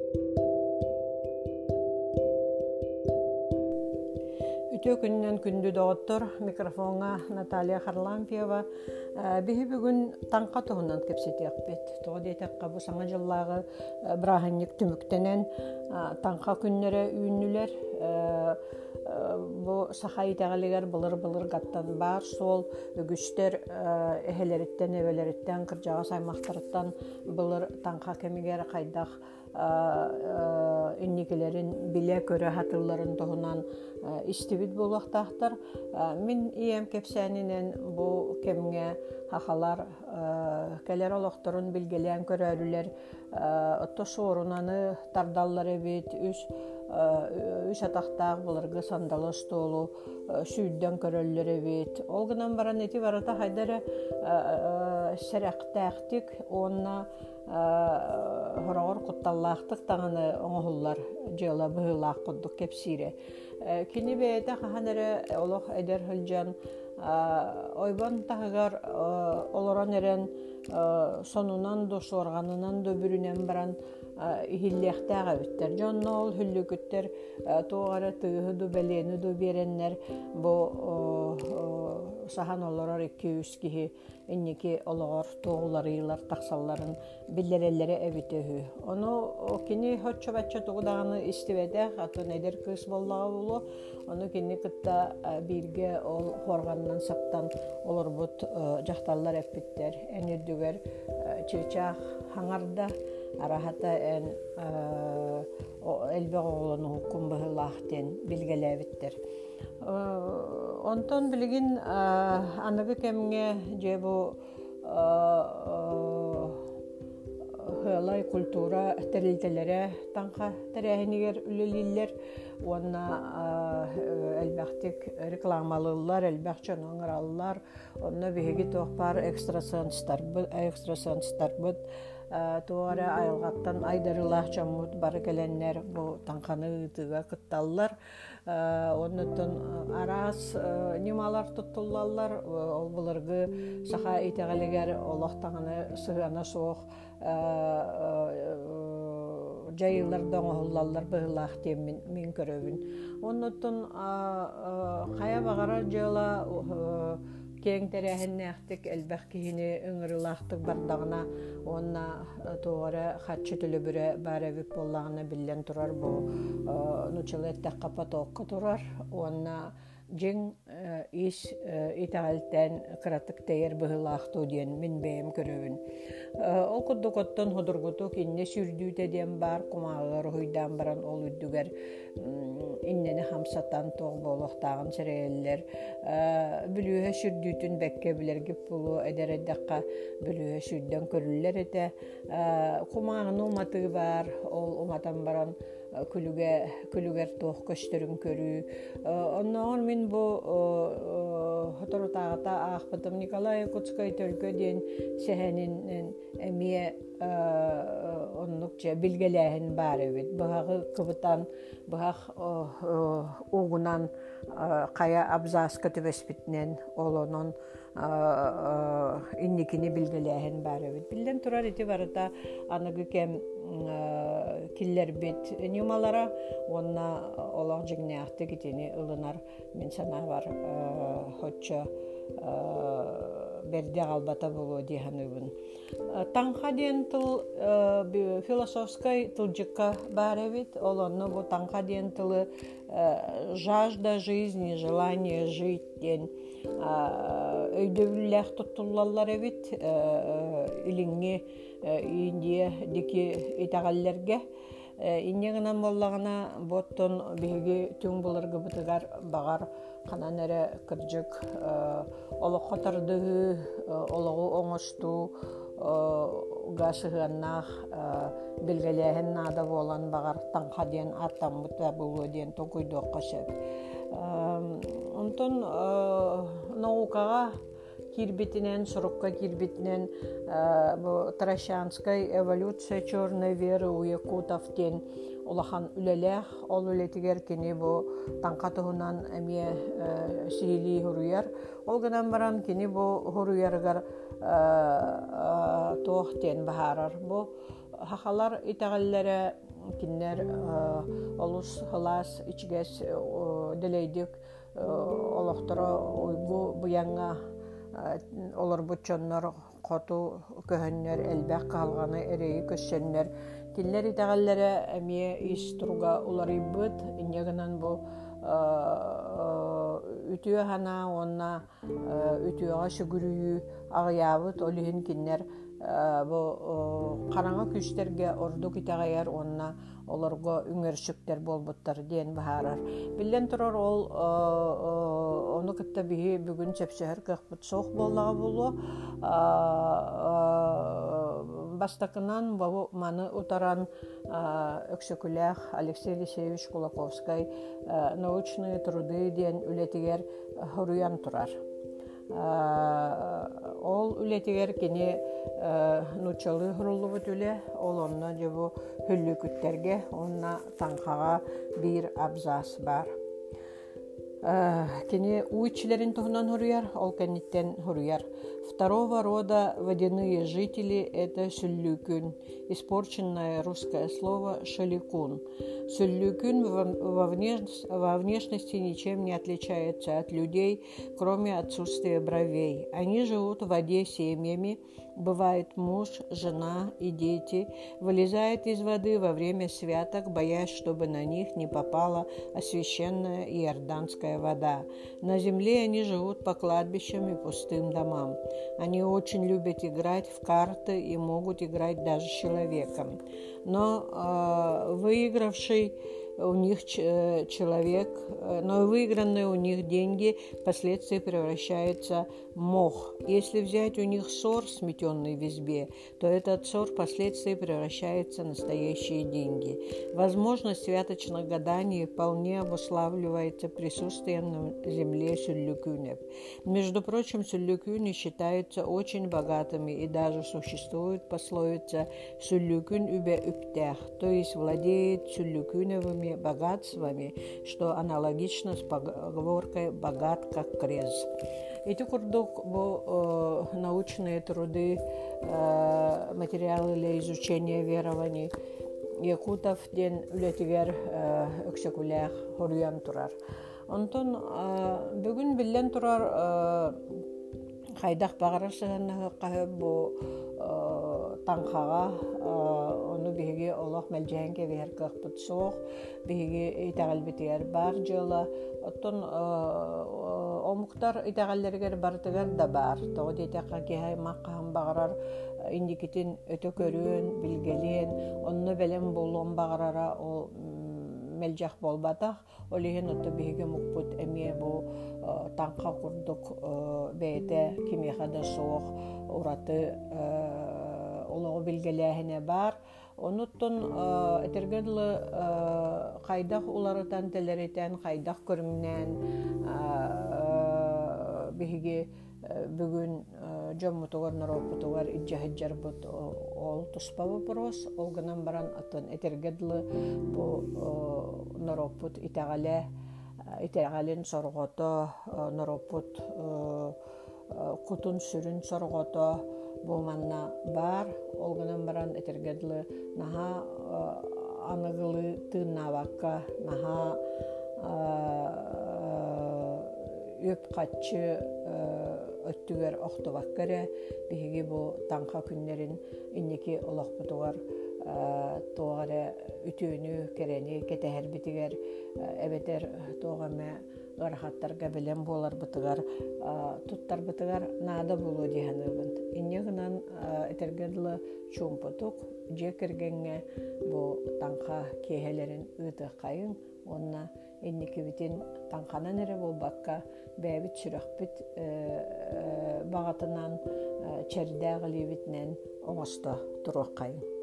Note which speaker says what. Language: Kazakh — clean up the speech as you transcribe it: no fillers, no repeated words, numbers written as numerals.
Speaker 1: Ütü күннен күндү доғыттыр микрофонға Наталья Харлампиева биһи бүгүн таңқа туһунан кепсетиэкпит. Тоҕо диэтекка бу саҥа жыллааҕы бырааһынньык түмүктэнэн таңқа күннэрэ үүннүлэр бу саха итэҕэлигэр былыр гаттан баар суол үгүстэр эһэлэриттэн эбэлэриттэн кырдьаҕа саймахтарыттан былыр таңқа кэмигэр хайдах инникелерин биле көрө хатылларын тоһунан истибит булуактаахтар. Мин ием кепсэнинен бу кемге хахалар келер олохторун билгелээн көрөрүлэр отто суорунаны тардаллар эбит үс атахтаах буларгы сандалы столу сүйдөн көрөллөр эбит. Ол гынан баран эти барата хайдары серэхтээхтик онна хорогор кутталлаахтык таңаны оңоһуллар жыла быһылаах курдук кепсире. Кини бэйэтэ хаханары олох эдер хылжан ойбан таһыгар олорон эрен сонунан до сорганынан до бүрүнен баран ихиллэхтээҕэ биттер. Дьонно ол хүллүкүттер тугара тыыһы ду белени ду береннер бу сахан олорор 200 киһи инники олоғор туғуларыйлар тақсалларын биллереллері әбітөһү. Ону кини хотчо-баччо туғудағаны истибедэх, атын эдер кыс боллаға болу, ону кини кытта бирге ол хорғаннан саптан олорбут жақталлар әппіттер. Әнүрдүгер чычақ хаңарда арахата ән элбе оғылыны хукум быһылаахтен билгеләбиттер. Онтон билигин аныгы кемге же бу хылай культура терилтелере таңка терехинигер үлелиллер онна элбахтик рекламалылар элбахчон оңраллар онна биһиги тохпар экстрасенстар бут туара айылгаттан айдарылах чамут бары келеннер бу таңканы ытыга кытталлар. Оннотон арас нималар туттуллаллар ол буларгы саха итегалигер олохтаңаны сыгана соох жайылардан оһуллаллар быһылаах тем мин көрөбүн. Оннотон кая багара жыла кең терәһеннәхтик элбәх киһини ыҥырылаахтык бардагына онна туора хатчы төлөбүрэ баарабит боллагына биллен турар бу нучалеттак капатоокка турар онна жиң ис итаалтен кыратык тейер быһылаахтуу диэн мин бэйэм көрөбүн. Ол курдукоттон ходургуту кинне сүрдүүтэ диэн бар кумааҕар хуйдаан баран ол үддүгэр иннени хамсатан тоог боолуохтаагын сереэллер бүлүүһэ сүрдүүтүн бэкке билергип булу эдереддакка бүлүүһэ сүрдөн көрүллер эте кумааҕын уматыгы бар ол уматан баран күлүгер тоох көстөрүн көрүү. Онноор мин бу хоторутаагата аахпытым Николай Якутскай төлкө диэн сэхэнин эмие оннукча билгелээһин бар эбит. Быһагы кыбытан быһах угунан кая абзаска төбөспүтнен олонон инникини билгелээһин бар эбит. Билден турар ити барыта аныгы кем киллер бит нюмалара онна олох жигнеахты китини ылынар мен сана бар хотчо берде албата болу диханыбын. Таңха диэн тыл философской тылжыкка бар эбит. Олонну бу таңха диэн тылы жажда жизни, желание жить диэн өйдөбүллээх туттуллаллар эбит. Илиңи индия дики итагаллерге иннегинан боллагына боттон биһиги түң булыргы бытыгар багар канан эре кырдьык олохко тардыгы ологу оңостуу гасыгыннаах билгелээһин наада болан багар таңха диэн аттаммыта булуу диэн токуйдуокка сөп. Онтон наукага кирбитинен, сурукка кирбитинен бу Таращанская эволюция черной веры у якутов тен улахан үлелех, ол үлетигер кини бу таңка туһунан эмие сиили хуруяр. Ол гынан баран кини бу хуруяргар туох тен бахарар. Бу хахалар итагаллары киннер олус халас ичгес делейдик олохтора уйгу буянга олар бутчоннор коту көһөннөр элбэх калганы эрейи көссөннөр тиллер итагаллары эмие иструга уларыбыт иннегенен бу үтүө хана онна үтүөга сүгүрүйү агыябыт олиһин киннер бу караңа күстерге ордук итагаяр онна олорго үңөрсүктер болбуттар диэн баһаарар билен турар ол ону кытта биһи бүгүн чепсөһөр кыахпыт соох боллага болуо бастакынан бабу маны утаран өксөкүлээх Алексей Алексеевич Кулаковский научные труды диэн үлетигер хоруян турар. Ол үлетигер кини нучалы хуруллубут үле, ол онна жобу хүллүкүттерге, онна таңқаға бир абзац бар. Кини уйчилерин туһунан хуруяр, ол кенниттен хуруяр. Второго рода водяные жители — это сюллюкюн, испорченное русское слово шаликун. Сюллюкюн во внешности ничем не отличается от людей, кроме отсутствия бровей. Они живут в воде семьями, бывает муж, жена и дети, вылезают из воды во время святок, боясь, чтобы на них не попала освященная иорданская вода. На земле они живут по кладбищам и пустым домам. Они очень любят играть в карты и могут играть даже с человеком. Но выигравший у них человек, но выигранные у них деньги впоследствии превращаются в мох. Если взять у них сор, сметенный в избе, то этот сор впоследствии превращается в настоящие деньги. Возможность святочных гаданий вполне обуславливается присутствием на земле сюллюкюнев. Между прочим, сюллюкюни считаются очень богатыми, и даже существует пословица «сюллюкюн үбе үптях», то есть владеет сюллюкюневыми богатствами, что аналогично с поговоркой «богат как крез». Эти курдук научные труды, материалы для изучения верований якутов ден үлетигер өксөкүлээх хоруян турар. Онтон бүгүн билен турар хайдах багарар сыгынна бу таңқаға оны биһиги олох мэлжээн кебиһэр кыахпыт суох биһиги итагалбитигер бар дьыла оттон омуктар итагаллергер бартыгар да бар тоҕо диэтэхха киһи маққаһан багарар индикитин өтө көрүөн билгелиэн онно белем болуон багарара ол мэлжэх болбатах олиһин отто биһиги мукпут эмиэ бу таңқа курдук бэйэтэ кимиэхэ да суох ураты олоҕу билгелээһине бар. Онуттун этергедлы хайдах уларытан телеритен, хайдах көрүмнен биһиги бүгүн жоммутугар наропутугар иджахыджарбут ол туспа вопрос, ол гынан баран атын этергедлы бу наропут итагален соргото, наропут кутун сүрүн соргото бу манна бар, ол гынан баран этергедлы наха аныгылы тыыннабакка, наха өп катчы өттүгер охтубаккаре биһиги бу таңка күннерин инники олохпутугар тогаре үтүүнү керени кетеһербитигер эбетер тоогаме гарахаттарга белем болар бытыгар туттар бытыгар наада болу диһаныбын иннегынан этергедлы чумпутук жекергенге бу таңка кеһелерин ыты кайын онна инникибитин таңканан эре болбакка бэбит сүрөхбит багатынан чердäгылибитнен оңосто туруаккайын.